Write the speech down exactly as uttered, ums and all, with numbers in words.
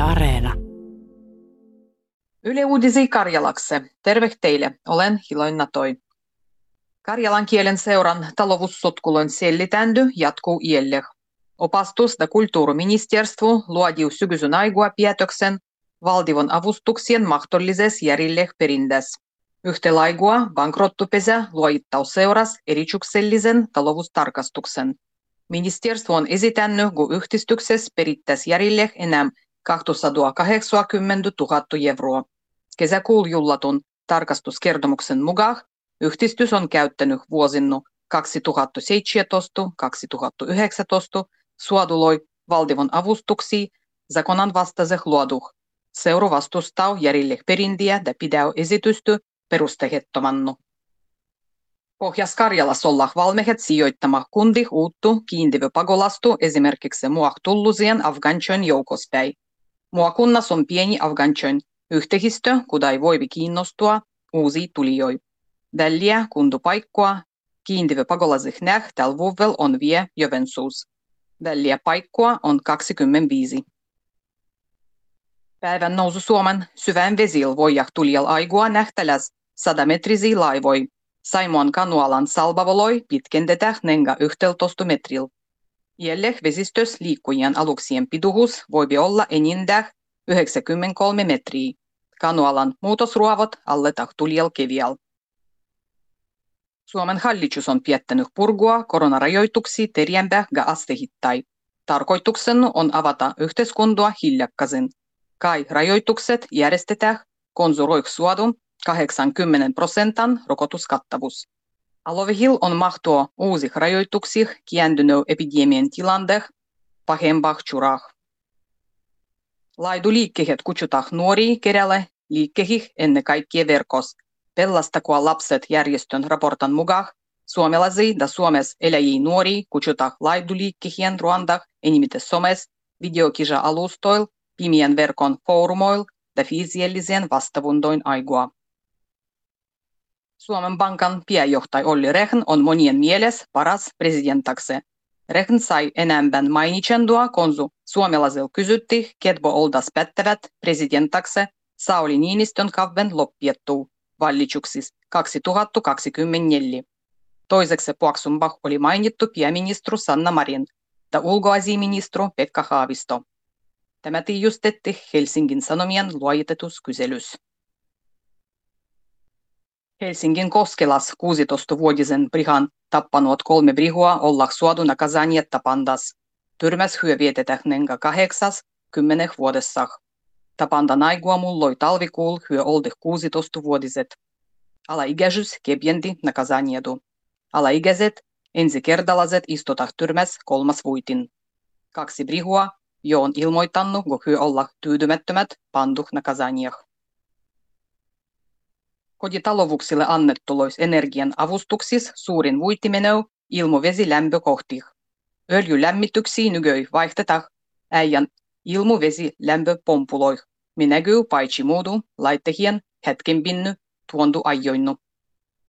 Areena. Yle Uudisi Karjalakse. Terve teille, olen Hiloin Natoi. Karjalan kielen seuran talovussotkulon sellitändy jatkuu iälle. Opastus- ja kulttuuriministeriö luodiu sykysyn aigua päätöksen valtion avustuksien mahdollises järjelle perindes. Yhtä laigua bankrottupesä luojittaus seuras erityksellisen taloustarkastuksen. Ministeriö on esitännyt, kun yhdistyksessä perittäisi järjelle enää kaksisataakahdeksankymmentätuhatta euroa. Kesäkuun jullatun tarkastuskertomuksen mukaan yhdistys on käyttänyt vuosina kaksituhattaseitsemäntoista kaksituhattayhdeksäntoista suoduloi valtion avustuksia zakonan vastaiseh luoduh. Seura vastustaa järjelle perintiä ja pidää esitystä perustehettomannu. Pohjois-Karjalassa ollaan valmiit sijoittamaan kundi uuttu kiintiöpakolastu pagolastu esimerkiksi muahtullusien Afganchön joukospäin. Muakunnassa on pieni Afganchön yhteistö, kuda ei voi kiinnostua uusia tulijoita. Tällä kundupaikkoa kiintiöpakolasih näh tällä vuodella on vie Joensuus. Tällä paikkoa on kaksikymmentäviisi. Päivän nousu Suomen syvän vesillä voijah tulijal aigua nähtäläs sadametrisiä laivoi. Saimoan kanualan salbavoloi pitkendetään nenga yksitoista metrillä. Jäljellä vesistössä liikkujien aluksien pituus voi olla enintään yhdeksänkymmentäkolme metriä. Kanualan muutosruovot alletaan tulijal kevial. Suomen hallitus on päättänyt purkua koronarajoituksia terjempää ja astehittain. Tarkoituksena on avata yhteiskuntaa hiljakkaisin. Kai rajoitukset järjestetään konsuroiksi suodun kahdeksankymmentä prosentin rokotuskattavuus. Alovihil on mahtua uusih rajoituksih kiäntynyt epidemian tilanteeh pahempah churah. Laiduliikkeet kutsutaan nuoria kerälle liikkehih ennen kaikkea verkos. Pelastakoon lapset järjestön raportan mukaan suomalaisia ja Suomessa eläjiä nuoria kutsutaan laiduliikkehien Ruandah enimite somes, videokisa-alustoil, pimien verkon foorumoil ja fysiellisen vastaavundoin aigua. Suomen Pankan pääjohtaja Olli Rehn on monien mielessä paras presidentakse. Rehn sai enemmän mainitsendua, kun suomalaisilla kysyttiin, ketkä oltaisiin pätevät presidentakse Sauli Niinistön kauden loppiettuu vallituksissa kaksituhattakaksikymmentäneljä. Toiseksi puoksumpah oli mainittu pääministeri Sanna Marin ja ulkoasiaministeri Pekka Haavisto. Tämä tiedustettiin Helsingin Sanomien luotetuskyselyssä. Helsingin Koskelas kuusitoistavuotisen Brihan tappanut kolme brihua ollaan suodu nakazanietta pandas. Tyrmäs hyö vietetään nenga kahdeksas kymmeneh vuodessah. Tapandan aigua mulloi talvikuul hyö oldih kuusitoistavuotiset. Alaikäisyys kepiendi nakazaniedu. Alaikäiset ensikertalaiset istutah tyrmäs kolmas vuitin. Kaksi brihua jo on ilmoittanut, kun hyö ollaan tyytymättömät panduh nakazanieh. Kotitalouksille annettulois energian avustuksis suurin vuitimeneu ilmovesilämpökohtih. Öljylämmityksiä nykyi vaihdetaan äijän ilmovesilämpöpompuloih, minäkyy paitsi muudu laittehien hetkenpinny tuondu ajoinnu.